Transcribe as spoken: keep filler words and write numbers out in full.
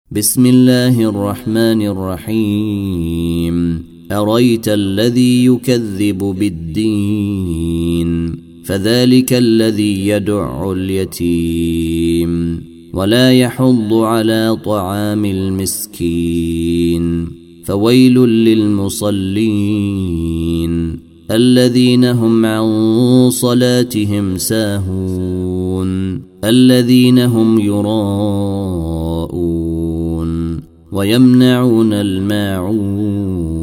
بسم الله الرحمن الرحيم. أريت الذي يكذب بالدين فذلك الذي يدع اليتيم ولا يحض على طعام المسكين فويل للمصلين الذين هم عن صلاتهم ساهون الذين هم يراءون ويمنعون الماعون